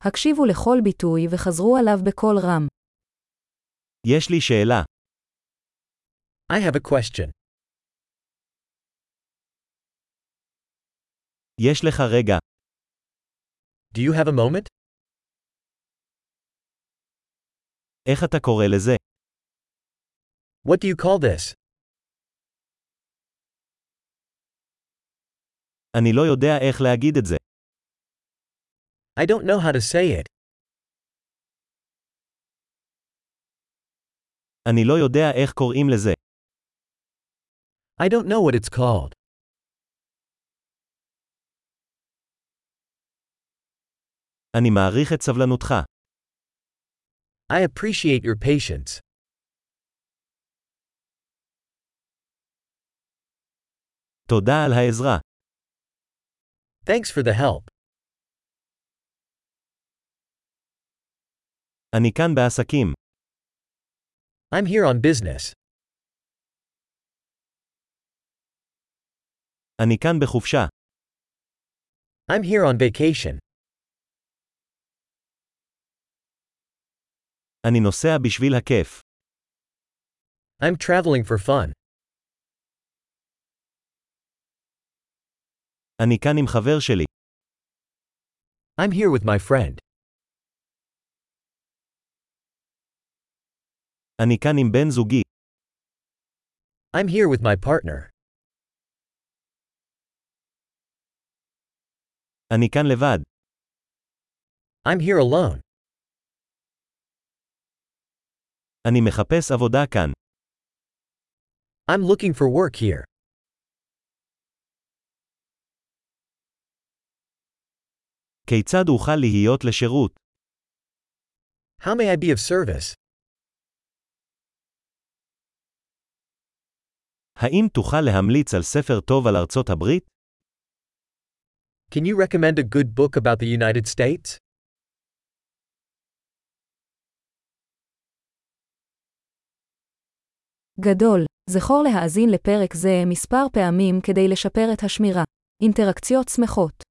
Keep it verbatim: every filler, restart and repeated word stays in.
הקשיבו לכל ביטוי וחזרו עליו בקול רם. יש לי שאלה. I have a question. יש לך רגע. Do you have a moment? איך אתה קורא לזה? What do you call this? אני לא יודע איך להגיד את זה. I don't know how to say it. אני לא יודע איך קוראים לזה. I don't know what it's called. אני מעריך את סבלנותך. I appreciate your patience. תודה על העזרה. Thanks for the help. אני כאן בעסקים. I'm here on business. אני כאן בחופשה. I'm here on vacation. אני נוסע בשביל הכיף. I'm traveling for fun. אני כאן עם חבר שלי. I'm here with my friend. אני כאן עם בן זוגי. I'm here with my partner. אני כאן לבד. I'm here alone. אני מחפש עבודה כאן. I'm looking for work here. כיצד אוכל להיות לשירות? How may I be of service? האם תוכל להמליץ על ספר טוב על ארצות הברית? Can you recommend a good book about the United States? גדול, זכור להאזין לפרק זה מספר פעמים כדי לשפר את השמירה. אינטראקציות שמחות